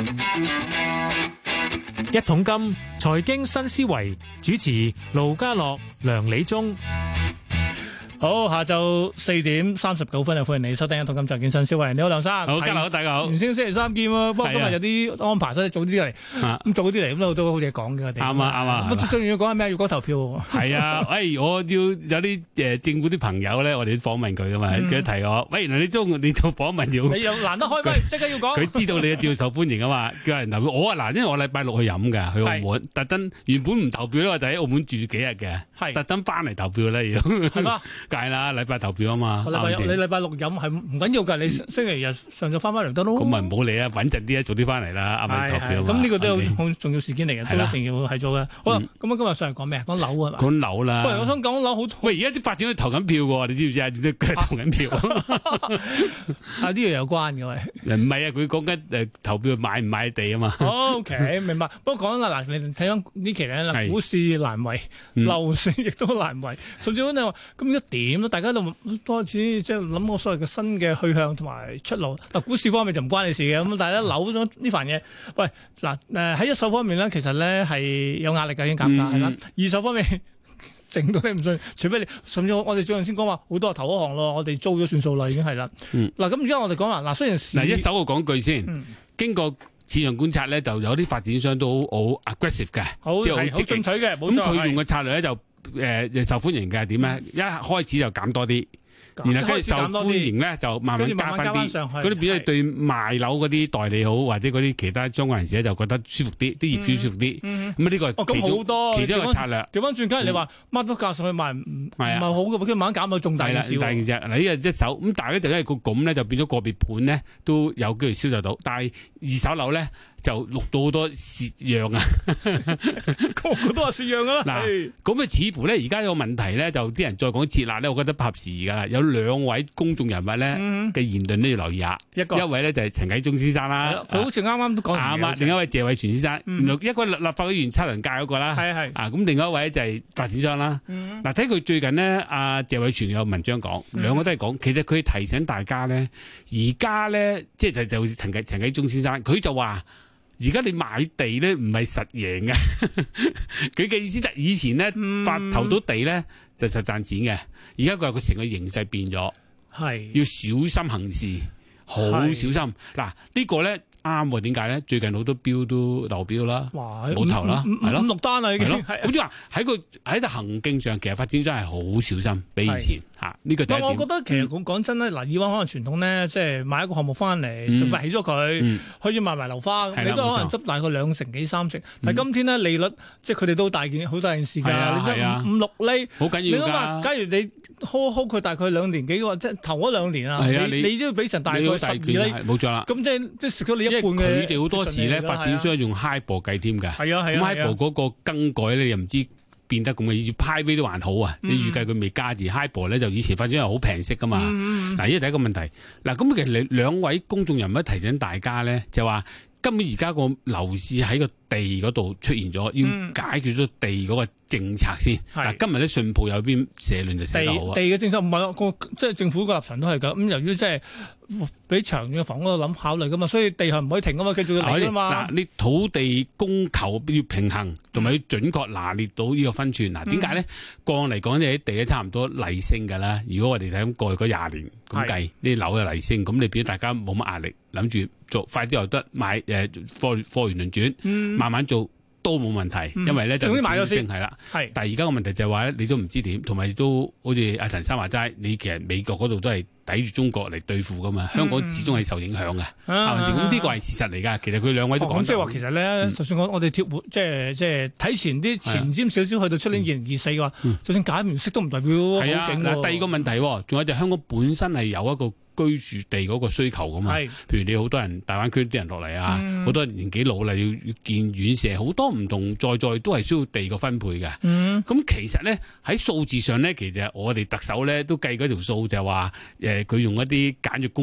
一桶金財經新思維，主持盧家樂、梁理中。 好，下晝4:39歡迎你收聽《一桶金財經新思維》。你好，梁生。 好，家樂大家好。 原先星期三見喎，不過今日有啲安排，所以早啲嚟。咁早啲嚟，咁都好嘢講嘅。 啱啊。 咁最重要講係咩？要講投票。 係啊，我要有啲政府啲朋友咧，我哋訪問佢噶嘛，佢提我，喂，原來你做訪問要， 你又難得開咪，即刻要講。 佢知道你照受歡迎啊嘛，叫人投票。我因為我禮拜六去飲嘅，去澳門，特登原本唔投票咧，我就喺澳門住幾日嘅，特登翻嚟投票咧要。係嘛？梗係啦，禮拜投票啊嘛。 你禮拜六飲係唔緊要㗎，你星期日上晝翻嚟得咯。 咁咪唔好理啊，穩陣啲啊，早啲翻嚟啦，啱啱投票。 咁呢個都好重要事件嚟嘅，都一定要係做嘅。好啦，咁今日上嚟講咩啊？講樓啊嘛。 講樓啦。 喂，我想講樓好。喂， 而家啲發展都投緊票喎，你知唔知啊？佢投緊票。 啊，呢樣有關嘅喂。 唔係啊，佢講緊投票買唔買地啊嘛。 OK， 明白。不過講啦，嗱，你睇緊呢期咧，股市難為，樓市亦都難為，甚至乎你話咁而家點咧？大家都開始即係諗我所謂嘅新嘅去向同埋出路。嗱，股市方面就唔關你事嘅，咁但係咧樓咗呢份嘢，喂嗱喺一手方面咧，其實咧係有壓力嘅，已經減價係啦。二手方面整到你唔信，除非你甚至我哋最近先講話好多係投嗰行咯，我哋租咗算數啦，已經係啦。嗱咁而家我哋講啦，嗱雖然一手我講句先，經過市場觀察咧，就有啲發展商都好 aggressive 嘅，即係好進取嘅， 咁佢用嘅策略咧就受歡迎嘅點咧？一開始就減多啲。然後跟住受歡迎咧，就慢慢加翻啲，嗰啲變咗對賣樓嗰啲代理好，或者嗰啲其他相關人士咧就覺得舒服啲，啲業主舒服啲。咁呢個係其中一個策略。 調翻轉，梗係你話乜都價上去賣唔係好嘅，跟住慢慢減到仲大件事。 大件事嗱，呢個一手咁，但係咧就因為個咁咧，就變咗個別盤咧都有機會銷售到，但係二手樓咧就錄到好多蝕讓啊！ 個個都話蝕讓啊！ 嗱，咁啊似乎咧而家有個問題咧，就啲人再講撤辣咧，我覺得不合時宜㗎啦。有兩位公眾人物咧嘅言論都要留意下。一位咧就係陳啟宗先生啦， 佢好似啱啱都講啱啊。另一位謝偉銓先生，一個立法會議員測量界嗰個啦，咁另外一位就係發展商啦。嗱，睇佢最近呢，阿謝偉銓有文章講，兩個都係講，其實佢提醒大家咧，而家咧即係就陳啟宗先生，佢就話。而家你買地咧唔係實贏嘅，佢嘅意思就以前咧投到地咧就實賺錢嘅，而家佢話佢成個形勢變咗，係要小心行事，好小心。嗱呢個咧啱喎，點解咧？最近好多標都流標啦，冇投啦，係咯 ，5、6單啦已經。 咁即係話喺個行徑上，其實發展商係好小心，比以前嚇呢個第一點。 我覺得其實講真咧，嗱以往可能傳統咧，即係買一個項目翻嚟，盡快起咗佢，可以賣埋樓花，你都可能執大概2成幾3成。但係今天咧利率，即係佢哋都好大件事㗎，你得5、6厘，好緊要㗎。你諗下，假如你 hold 佢大概2年幾嘅話，即係頭嗰2年啊，你都要俾成大概12厘， 冇錯啦。 咁即係食咗你一半嘅。 因為佢哋好多時咧發展商用 HIBOR 計添㗎，咁 HIBOR 嗰個更改咧又唔知變得咁嘅，要 private 都還好啊。你預計佢未加字 HIBOR 咧，就以前發展係好平息㗎嘛。嗱，呢個第一個問題。嗱，咁其實兩位公眾人物提醒大家咧，就話根本而家個樓市喺個地嗰度出現咗，要解決咗地嗰個政策先。嗱，今日咧信報有篇社論就寫得好啊。 地嘅政策唔係即係政府個立場都係㗎。咁由於即係俾長遠嘅房屋度諗考慮㗎嘛，所以地係唔可以停㗎嘛，繼續要嚟㗎嘛。 嗱，你土地供求要平衡，同埋要準確拿捏到呢個分寸。嗱，點解咧？個案嚟講，你啲地咧差唔多例升㗎啦。如果我哋睇咁過去嗰20年咁計，呢啲樓嘅例升，咁你變咗大家冇乜壓力，諗住做快啲又得買貨源輪轉，慢慢做都冇問題，因為咧就買咗先係啦。但係而家個問題就係話咧，你都唔知點，同埋都好似阿陳生話齋，你其實美國嗰度都係抵住中國嚟對付噶嘛，香港始終係受影響嘅，係咪先？咁呢個係事實嚟㗎。其實佢兩位都講即係話其實咧，就算我哋即係睇前啲前瞻少少，去到出年2024嘅話，就算解唔息都唔代表好勁喎。 嗱，第二個問題，仲有就香港本身係有一個居住地嗰個需求噶嘛，譬如你好多人大灣區啲人落嚟啊，好多人年紀老啦，要建院舍，好多唔同在都係需要地個分配嘅。咁其實咧喺數字上咧，其實我哋特首咧都計嗰條數就係話，佢用一啲簡約公屋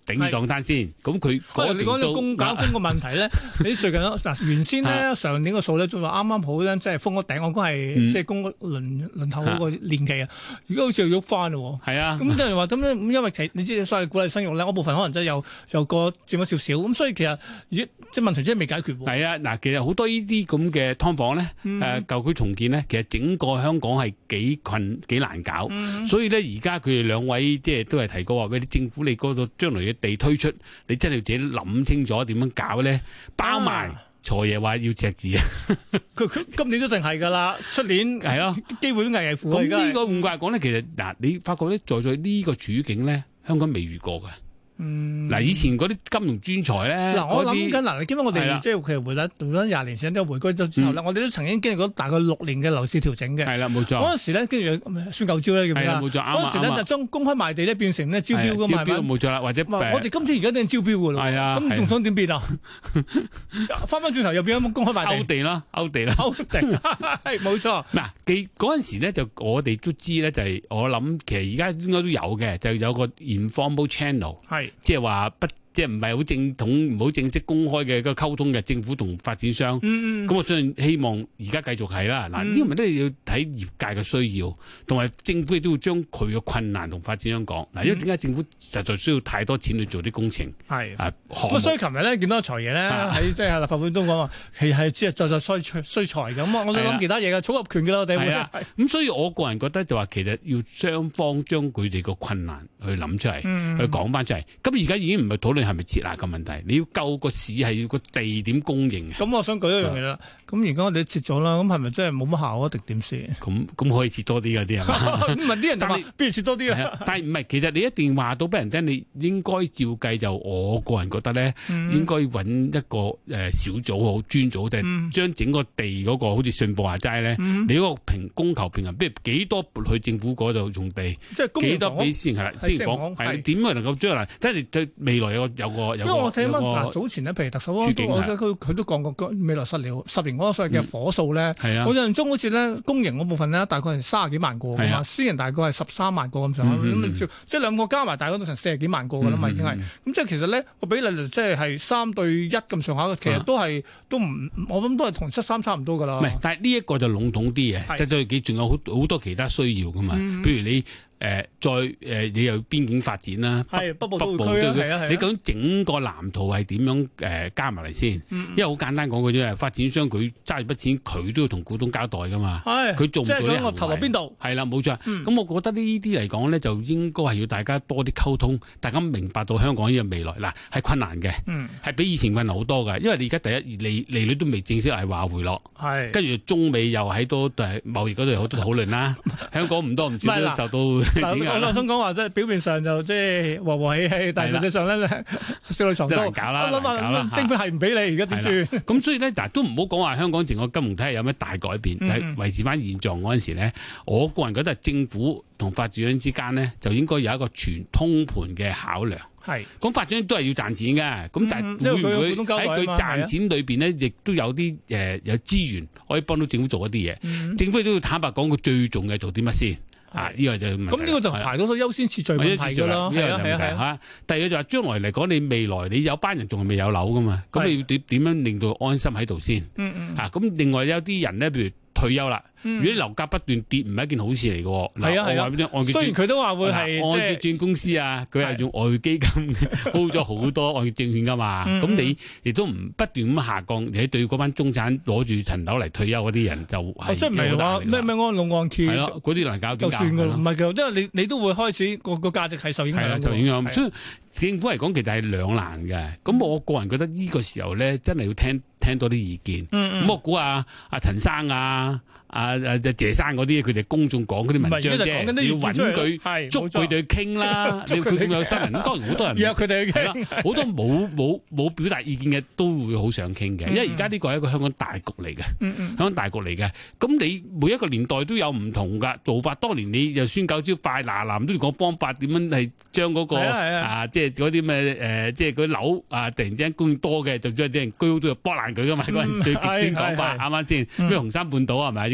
頂住檔單先。咁佢嗰你講到公搞公個問題咧，你最近嗱原先咧上年個數咧仲話啱啱好咧，即係封咗頂，我估係即係公輪候嗰個年期啊，而家好似又喐翻咯。係啊，咁有人話咁咧，因為你知所謂鼓勵生育咧，嗰部分可能真係又過佔咗少少，咁所以其實即係問題真係未解決。係啊， 嗱，其實好多呢啲咁嘅劏房咧，舊區重建咧，其實整個香港係幾難搞，所以咧而家佢哋兩位即係都係提過話，喂，政府你嗰度將來嘅地推出，你真係要自己諗清楚點樣搞咧，包埋財爺話要赤字啊！ 佢今年都一定係㗎啦，出年係咯，機會都危危乎。 咁呢個換句話講咧，其實嗱，你發覺咧，在呢個處境咧，香港未遇過㗎。嗱，以前嗰啲金融專才咧， 我諗緊嗱，你記得我哋即係其實回咗20年前，都回歸咗之後咧，我哋都曾經經歷過大概6年嘅樓市調整嘅。係啦，冇錯。嗰陣時咧，跟住算舊招咧，叫咩啊？冇錯，嗰陣時咧就將公開賣地咧變成咧招標㗎嘛，係咪？冇錯啦，或者我哋今天而家都係招標㗎咯。係啊，咁仲想點變啊？翻轉頭又變咗公開賣地啦，勾地啦，係冇錯。嗱，嗰陣時咧就我哋都知咧，就係我諗其實而家應該都有嘅，就有個 informal channel 係。即係話即係唔係好正統、唔好正式公開嘅個溝通嘅政府同發展商。咁我相信希望而家繼續係啦。嗱，呢個咪都係要睇業界嘅需要，同埋政府亦都要將佢嘅困難同發展商講。嗱，因為點解政府實在需要太多錢去做啲工程？係咁所以琴日咧見到財爺咧喺即係立法會都講話，其實係只係在需財嘅。咁我都諗其他嘢嘅，組合拳嘅啦，我哋會係。咁所以我個人覺得就話其實要雙方將佢哋個困難去諗出嚟，去講翻出嚟。咁而家已經唔係討論係咪設立嘅問題，你要救個市係要個地點供應。咁我想舉一樣嘢啦。咁而家我哋都設咗啦，咁係咪真係冇乜效啊？定點先？咁可以設多啲嗰啲係嘛？唔係啲人就話，不如設多啲啊？但係唔係，其實你一定話到俾人聽，你應該照計就我個人覺得咧，應該揾一個小組好專組，就係將整個地嗰個好似信報話齋咧，你嗰個供求平衡，譬如幾多撥去政府嗰度用地，即係幾多俾先係啦，先講係點樣能夠將來，即係對未來有個。因為我睇翻嗱早前咧，譬如特首佢都講過未來10年嗰個所謂嘅火數咧，我印象中好似咧公營嗰部分咧大概係30幾萬個㗎嘛，私人大概係13萬個咁上下，咁即係兩個加埋大概都成40幾萬個㗎啦嘛，已經係咁即係其實咧個比例就即係3對1咁上下，其實都唔我諗都係同73差唔多㗎啦。唔係，但係呢一個就籠統啲嘅，即係佢仲有好多其他需要㗎嘛，譬如你。你又邊境發展啦，北部都會區你究竟整個藍圖係點樣加埋嚟先？因為好簡單講句啫，發展商佢揸住筆錢，佢都要同股東交代噶嘛。佢做唔到呢個行為。即係我投落邊度？係啦，冇錯。咁我覺得呢啲嚟講咧，就應該係要大家多啲溝通，大家明白到香港呢個未來嗱係困難嘅，係比以前困難好多㗎。因為你而家第一利率都未正式係話回落，跟住中美又喺多貿易嗰度有好多討論啦。香港唔多唔少都受到。我想講話即係表面上就即係和和氣氣，但係實際上咧少女藏刀，我諗下政府係唔俾你而家點算？咁所以咧，嗱都唔好講話香港整個金融體系有咩大改變，係維持翻現狀嗰陣時咧，我個人覺得政府同發展商之間咧就應該有一個全通盤嘅考量。係咁發展都係要賺錢嘅，咁但係會唔會喺佢賺錢裏邊咧，亦都有啲有資源可以幫到政府做一啲嘢？政府都要坦白講，佢最重要做啲乜先？呢個就咁呢個就排到優先次序問題㗎啦。係第二個就話將來嚟講，你未來你有班人仲係未有樓㗎嘛？咁你要點樣令到安心喺度先？咁另外有啲人咧，譬如退休啦，如果樓價不斷跌，唔係一件好事嚟嘅。係啊，雖然佢都話會係按揭轉公司啊，佢係用外匯基金 hold 咗好多按揭證券㗎嘛。咁你亦都唔不斷咁下降，你對嗰班中產攞住層樓嚟退休嗰啲人就係即係唔係話咩安老按揭？係咯，嗰啲難搞就算㗎啦。唔係嘅，因為你都會開始個價值係受影響。受影響。所以政府嚟講其實係兩難嘅。咁我個人覺得呢個時候咧，真係要聽多啲意見。咁我估阿陳生啊。謝生嗰啲，佢哋公眾講嗰啲文章啫，要揾佢捉佢哋去傾啦。佢咁有新聞，當然好多人約佢哋去傾，好多冇表達意見嘅都會好想傾嘅。因為而家呢個係一個香港大局嚟嘅，香港大局嚟嘅。咁你每一個年代都有唔同㗎做法。當年你就孫九招快嗱都要講方法點樣係將嗰個即係嗰啲咩即係嗰啲樓突然之間供應多嘅，就將啲人居屋都要剝爛佢㗎嘛。嗰陣最極端講法啱啱先？咩紅山半島係咪？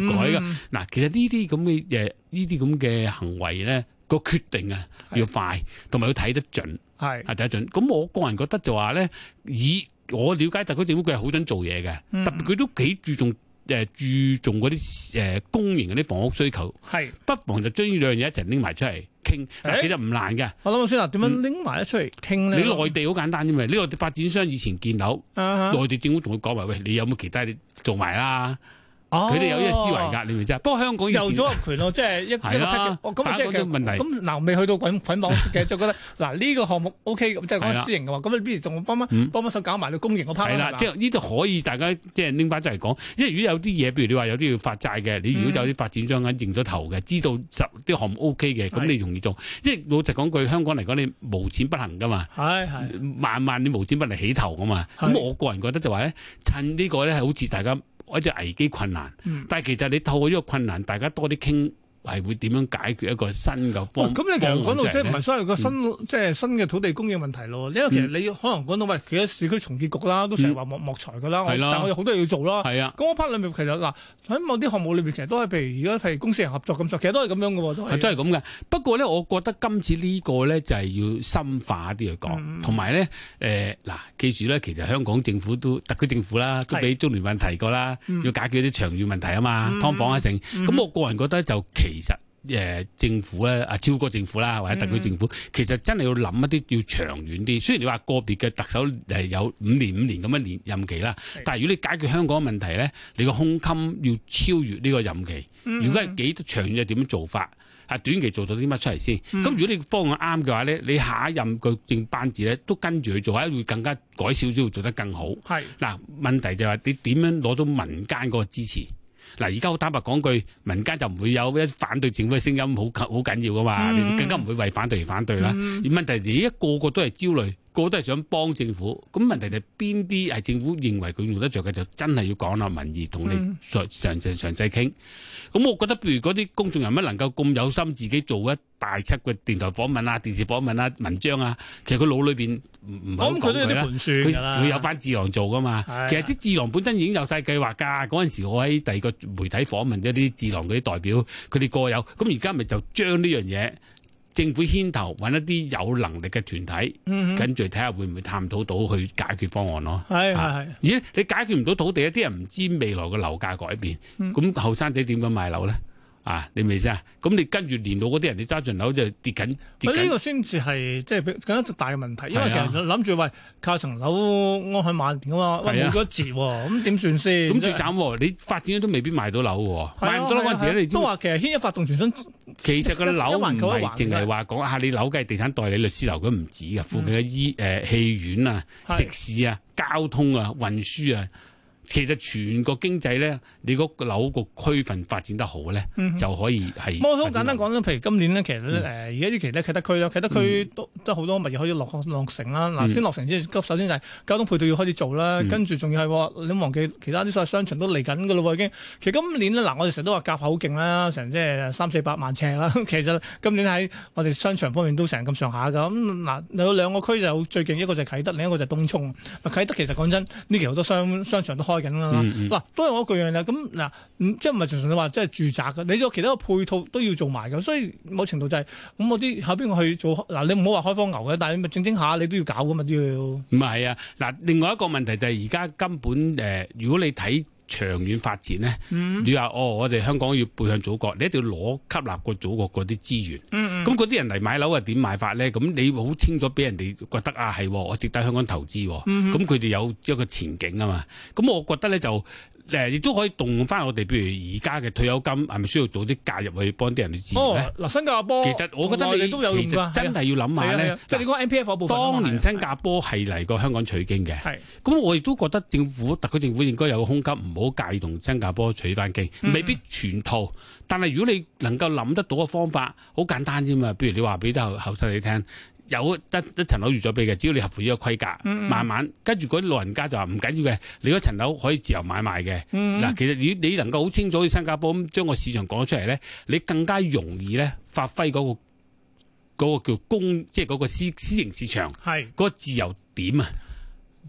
改㗎。嗱，其實呢啲咁嘅行為咧，個決定啊要快，同埋要睇得準，係睇得準。咁我個人覺得就話咧，以我了解特區政府佢係好想做嘢嘅，特別佢都幾注重嗰啲公營嗰啲房屋需求，係不妨就將呢兩樣嘢一齊拎埋出嚟傾。其實唔難嘅。我諗下先啦，點樣拎埋一出嚟傾咧？你內地好簡單啫嘛，呢個發展商以前建樓，內地政府同佢講話，喂，你有冇其他你做埋啦？佢哋有呢個思維㗎，你明唔明啫？不過香港有組合拳咯，即係一個咁即係問題。咁嗱，未去到捆綁嘅，就覺得嗱呢個項目 OK，咁即係講私營嘅話，咁你不如仲幫幫手搞埋到公營嗰 part 啦。係啦，即係呢度可以大家即係拎翻出嚟講，因為如果有啲嘢，譬如你話有啲要發債嘅，你如果有啲發展商認咗頭嘅，知道啲項目 OK 嘅，咁你容易做。因為老實講句，香港嚟講，你無錢不行㗎嘛，萬你無錢不嚟起頭㗎嘛。咁我個人覺得就話咧，趁呢個咧係好似大家一隻危機困難，但係其實你透過呢個困難，大家多啲傾，係會點樣解決一個新嘅方案？咁你其實講到即係唔係所謂個新即係新嘅土地供應問題咯？因為其實你可能講到喂，其實市區重建局啦，都成日話莫財㗎啦，但我有好多嘢要做啦。係啊，咁我 part 裏面其實嗱喺某啲項目裏邊，其實都係譬如而家係公私人合作咁，其實都係咁樣嘅喎，都係咁嘅。不過咧，我覺得今次呢個咧就係要深化啲去講，同埋咧嗱，記住咧，其實香港政府特區政府啦，都俾中聯辦提過啦，要解決啲長遠問題啊嘛，劏房啊成。咁我個人覺得就其實政府咧超過政府啦，或者特區政府，其實真係要諗一啲要長遠啲。雖然你話個別嘅特首有5年咁樣任期啦，但係如果你解決香港問題咧，你個胸襟要超越呢個任期。如果係幾長遠，點樣做法？係短期做到啲乜出嚟先？咁如果你方案啱嘅話咧，你下一任個政班子咧都跟住去做，或者會更加改少少，做得更好。係嗱，問題就係你點樣攞到民間嗰個支持？嗱，而家好坦白講句，民間就唔會有一反對政府嘅聲音，好緊要噶嘛，你更加唔會為反對而反對啦。而問題而家個個都係焦慮，個個都係想幫政府。咁問題就係邊啲係政府認為佢用得着嘅，就真係要講下民意，同你詳細傾。咁我覺得，譬如嗰啲公眾人物能夠咁有心，自己做一大輯嘅電台訪問啊、電視訪問啊、文章啊，其實佢腦裏邊唔係好講佢啦。佢有班智囊做噶嘛。其實啲智囊本身已經有晒計劃㗎。嗰陣時我喺第二個媒體訪問咗啲智囊嗰啲代表，佢哋個有。咁而家咪就將呢樣嘢政府牽頭揾一啲有能力嘅團體，跟住睇下會唔會探討到去解決方案咯。係。咦？你解決唔到土地，一啲人唔知未來嘅樓價改變，咁後生仔點樣買樓咧？你明唔明啊？咁你跟住年老嗰啲人，你揸盡樓就跌緊。呢個先至係即係更加大嘅問題，因為其實諗住喂靠層樓安享晚年㗎嘛，喂冇咗折喎，咁點算先？咁最慘，你發展都未必賣到樓喎，賣唔到樓嗰陣時咧，你都話其實牽一發動全身。其實個樓唔係淨係話講下你樓嘅地產代理律師樓，佢唔止㗎，附近嘅戲院啊、食肆啊、交通啊、運輸啊。其實全個經濟咧，你嗰個樓個區份發展得好咧，就可以係。我好簡單講啦，譬如今年咧，其實而家呢期咧啟德區啦，啟德區都好多物業可以落成啦。嗱，先落成先，首先就係交通配套要開始做啦，跟住仲要係你忘記其他啲所謂商場都嚟緊㗎咯喎已經。其實今年咧，嗱我哋成日都話夾口好勁啦，成即係300-400萬尺啦。其實今年喺我哋商場方面都成咁上下㗎。咁嗱有兩個區就最勁，一個就係啟德，另一個就係東涌。啟德其實講真，呢期好多商場都開緊啦，嗱都係我一句樣啦。咁嗱，即係唔係純粹你話即係住宅嘅，你有其他嘅配套都要做埋嘅。所以某程度就係咁，我啲後邊我去做嗱，你唔好話開荒牛嘅，但係你咪整下你都要搞嘅嘛都要。唔係啊，嗱，另外一個問題就係而家根本如果你睇長遠發展咧，你話我哋香港要背向祖國，你一定要吸納過祖國嗰啲資源。咁嗰啲人嚟買樓係點買法咧？咁你好清楚俾人哋覺得係我值得香港投資。咁佢哋有一個前景啊嘛。咁我覺得咧就亦都可以動翻我哋，譬如而家嘅退休金係咪需要做啲介入去幫啲人去治咧？嗱，新加坡其實我覺得你都有用㗎，真係要諗下咧。即係你講 MPF 嗰部分。當年新加坡係嚟過香港取經嘅，咁我亦都覺得特區政府應該有個空間，唔好介意同新加坡取翻經，未必全套。但係如果你能夠諗得到嘅方法，好簡單啫嘛。譬如你話俾啲後生你聽。有一層樓預咗俾嘅，只要你合乎呢個規格，慢慢跟住嗰啲老人家就話唔緊要嘅，你嗰層樓可以自由買賣嘅。嗱，其實你能夠好清楚去新加坡咁將個市場講出嚟咧，你更加容易咧發揮嗰個叫即係嗰個私營市場嗰個自由點啊！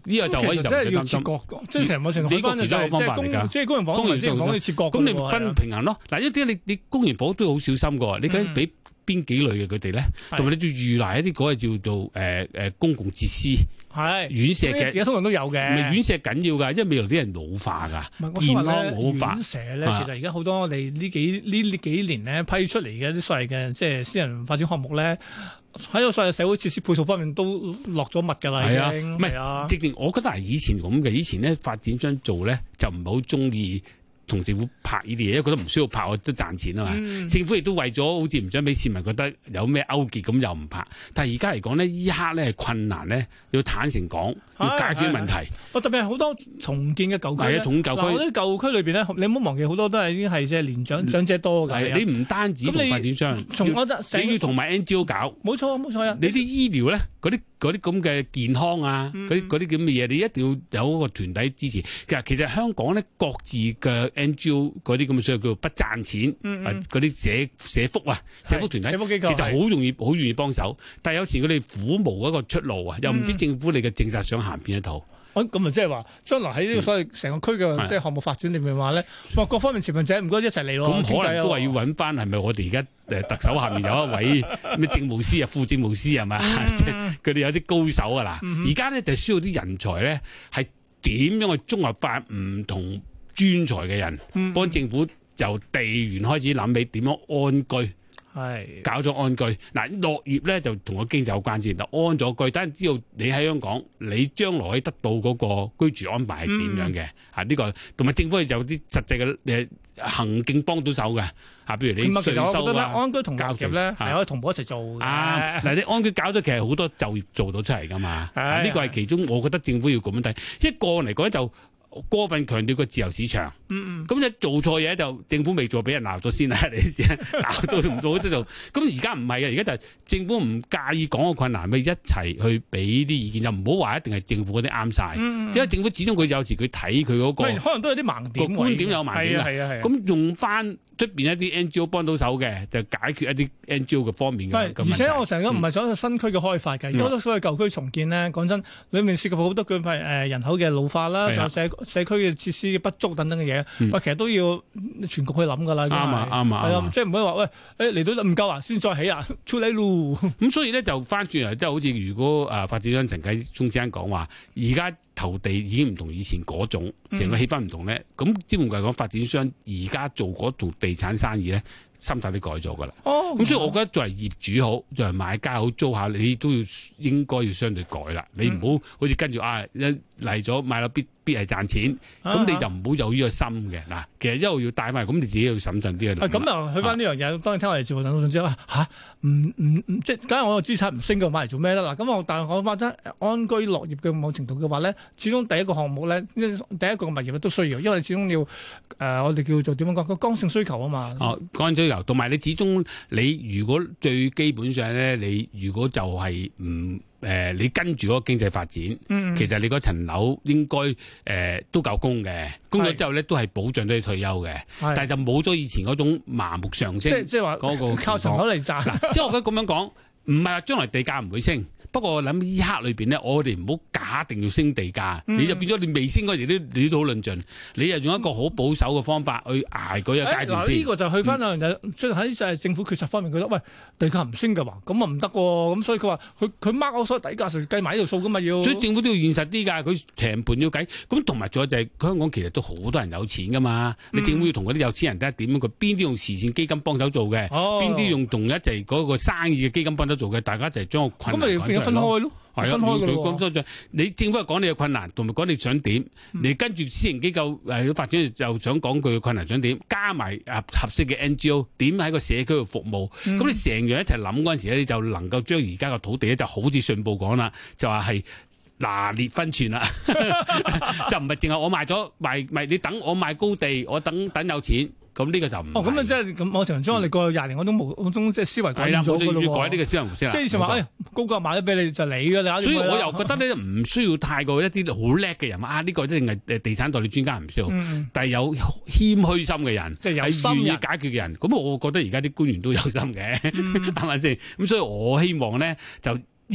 呢個就可以就真係要切割，即係其實某程度睇翻就係即係公營房嚟先講要切割。 咁你分平衡咯。嗱，一啲你公營房都好小心㗎，你究竟俾邊幾類嘅佢哋咧？同埋你要預埋一啲嗰個叫做公共設施。係院舍嘅，而家通常都有嘅。 院舍緊要㗎，因為未來啲人老化㗎，健康老化。 院舍咧，其實而家好多我哋呢幾年咧批出嚟嘅啲所謂嘅即係私人發展項目咧，喺個所謂社會設施配套方面都落咗密㗎啦，已經。唔係，直情我覺得係以前咁嘅。以前咧發展商做咧就唔係好中意同政府拍呢啲嘢，因為覺得唔需要拍，我都賺錢啊嘛。政府亦都為咗好似唔想俾市民覺得有咩勾結，咁又唔拍。但係而家嚟講呢，依刻咧係困難咧，要坦誠講，要解決問題。 特別係好多重建嘅舊區咧， 重舊區。 嗱，啲舊區裏邊咧，你唔好忘記好多都係已經係即係年長者多嘅。 你唔單止同發展商，你要同埋 NGO 搞。冇錯啊！你啲醫療咧，嗰啲咁嘅健康啊，嗰啲咁嘅嘢，你一定要有一個團體支持。其實香港咧各自嘅 NGO 嗰啲咁嘅所謂叫做不賺錢，嗰啲社福啊、社福團體，其實好願意幫手。但係有時佢哋苦無一個出路啊，又唔知政府你嘅政策想行邊一套。 咁啊，即係話將來喺呢個所謂成個區嘅即係項目發展裏面話咧，各方面持份者唔該一齊嚟咯。 咁可能都係要揾翻係咪我哋而家特首下面有一位咩政務司啊、副政務司係咪？即係佢哋有啲高手啊嗱。而家咧就需要啲人才咧，係點樣去綜合化唔同專才嘅人，幫政府由地緣開始諗起點樣安居。搞咗安居嗱，落葉咧就同個經濟有關先。安咗居，等人知道你喺香港，你將來可以得到嗰個居住安排係點樣嘅。呢個同埋政府係有啲實際嘅行徑幫到手嘅。譬如你稅收啊， 安居同落葉咧係可以同步一齊做嘅。 嗱，你安居搞咗，其實好多就業做到出嚟噶嘛。呢個係其中，我覺得政府要咁樣睇。一個嚟講就過分強調個自由市場，咁你做錯嘢就政府未做，俾人鬧咗先啦，你先鬧到唔做都做。咁而家唔係嘅，而家就係政府唔介意講個困難，咪一齊去俾啲意見，就唔好話一定係政府嗰啲啱晒。因為政府始終佢有時佢睇佢嗰個， 可能都有啲盲點， 個觀點有盲點嘅。咁用翻出邊一啲 NGO 幫到手嘅，就解決一啲 NGO 嘅方面嘅。 而且我成日唔係想新區嘅開發嘅，好多所謂舊區重建咧，講真，裡面涉及好多佢係人口嘅老化啦，就社區嘅設施嘅不足等等嘅嘢，其實都要全局去諗㗎啦。啱啊，即係唔可以話喂，嚟到唔夠啊，先再起啊，出嚟咯。 咁所以咧就翻轉嚟，即係好似如果發展商陳啟宗先生講話，而家投地已經唔同以前嗰種，成個氣氛唔同咧。咁基本上講，發展商而家做嗰種地產生意咧，心態都改咗㗎啦。咁所以我覺得作為業主好，作為買家好，租客你都應該要相對改啦。你唔好好似跟住嚟咗買樓必係賺錢，咁你就唔好有呢個心嘅嗱。其實一路要帶翻嚟，咁你自己要審慎啲去。 咁啊，去翻呢樣嘢，當然聽我哋節目等到信之後即係假如我個資產唔升嘅，買嚟做咩咧？嗱，咁但係我覺得安居樂業嘅某程度嘅話咧，始終第一個項目咧，第一個物業都需要，因為你始終要我哋叫做點樣講個剛性需求啊嘛。 剛性需求，同埋你始終你如果最基本上咧，你如果就係你跟住嗰個經濟發展，其實你嗰層樓應該都夠供嘅，供咗之後咧都係保障到你退休嘅，但係就冇咗以前嗰種麻木上升， 即係話嗰個靠層樓嚟賺。 即係我覺得咁樣講，唔係話將來地價唔會升。不過我諗呢刻裏邊咧，我哋唔好假定要升地價，你就變咗你未升嗰時你都好論盡，你又用一個好保守嘅方法去捱嗰個階段先。 呢個就去翻兩樣嘢，即係喺政府決策方面，覺得喂地價唔升嘅話，咁啊唔得喎，咁所以佢話佢 mark 我所有底價，計埋呢條數噶嘛要。 所以政府都要現實啲㗎，佢平盤要計。咁同埋仲有就係香港其實都好多人有錢㗎嘛，你政府要同嗰啲有錢人睇下點樣，佢邊啲用慈善基金幫手做嘅，邊啲用同一齊嗰個生意嘅基金幫手做嘅，大家就係將個困難分開咯。 係啊，你政府係講你嘅困難，同埋講你想點，你跟住私營機構發展又想講佢嘅困難想點，加埋合適嘅 NGO 點喺個社區度服務，咁你成樣一齊諗嗰陣時咧，你就能夠將而家嘅土地咧就好似信報講啦，就話係拿捏分寸啦，就唔係淨係我賣咗賣，你等我賣高地，我等有錢。咁呢個就唔咁啊！即係咁，我成日將我哋過去20年嗰種即係思維改咗㗎咯喎。 要改呢個思維模式啦。 即係以前話高價賣咗俾你就你㗎啦。 所以我又覺得咧唔需要太過一啲好叻嘅人呢個一定係地產代理專家唔需要，但係有謙虛心嘅人，即係有願意解決嘅人。咁我覺得而家啲官員都有心嘅，係咪先？咁所以我希望咧就呢個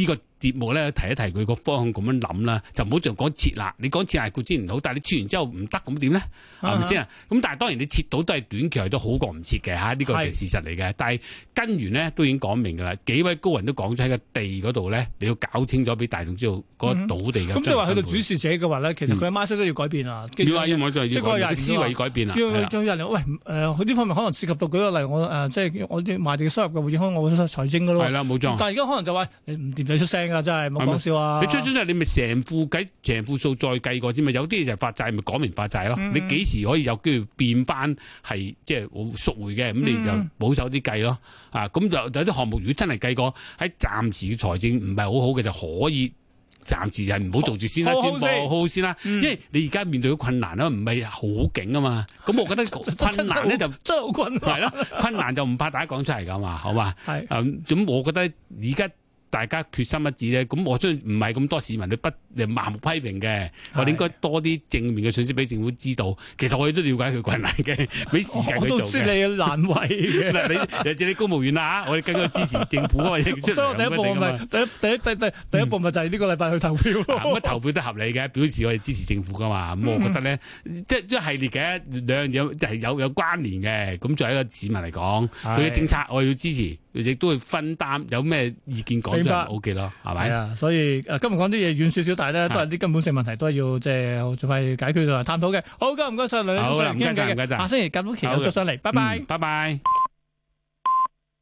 節目咧提一提佢個方向咁樣諗啦，就唔好就講撤辣。你講撤辣固然唔好，但係你撤完之後唔得咁點咧？係咪先啊？咁但係當然你撤到都係短期內都好過唔撤嘅嚇，呢個係事實嚟嘅。但係根源咧都已經講明㗎啦，幾位高人都講咗喺個地嗰度咧，你要搞清楚俾大眾知道嗰個土地嘅。 咁即係話去到主事者嘅話咧，其實佢嘅 mindset 都要改變啊。 要即係個人思維要改變啊。 要人喂佢呢方面可能涉及到舉個例，我即係我啲賣地嘅收入嘅會影響我嘅財政㗎咯。 係啦，冇錯。 但係而家可能就話你唔掂就出聲㗎，真係冇講笑啊！ 你出聲就你咪成副數再計過啫嘛。有啲嘢就發債咪講明發債咯。你幾時可以有機會變翻係即係贖回嘅？咁你就保守啲計咯。咁就有啲項目如果真係計過喺暫時嘅財政唔係好好嘅，就可以暫時係唔好做住先啦，宣佈好先啦。因為你而家面對嘅困難啦，唔係好勁啊嘛。咁我覺得困難咧就真係好困難。 係咯，困難就唔怕大家講出嚟㗎嘛，好嘛？係咁我覺得而家大家決心一致咧，咁我相信唔係咁多市民去盲目批評嘅，我哋應該多啲正面嘅信息俾政府知道。其實我哋都了解佢困難嘅，俾時間佢做嘅。我都知你難為嘅。你你公務員啦嚇，我哋更加支持政府啊！ 所以我第一步咪第一步咪就係呢個禮拜去投票咯。 咁投票都合理嘅，表示我哋支持政府噶嘛。咁我覺得咧，即係系列嘅兩樣嘢就係有關聯嘅。咁作為一個市民嚟講，佢嘅政策我要支持，亦都會分擔。有咩意見講就 OK 咯，係咪？係啊， 所以今日講啲嘢遠少少，但係咧都係啲根本性問題，都係要即係盡快解決同埋探討嘅。好，唔該晒梁理中，唔該晒，下星期夾到期又再上嚟，拜拜， 拜拜。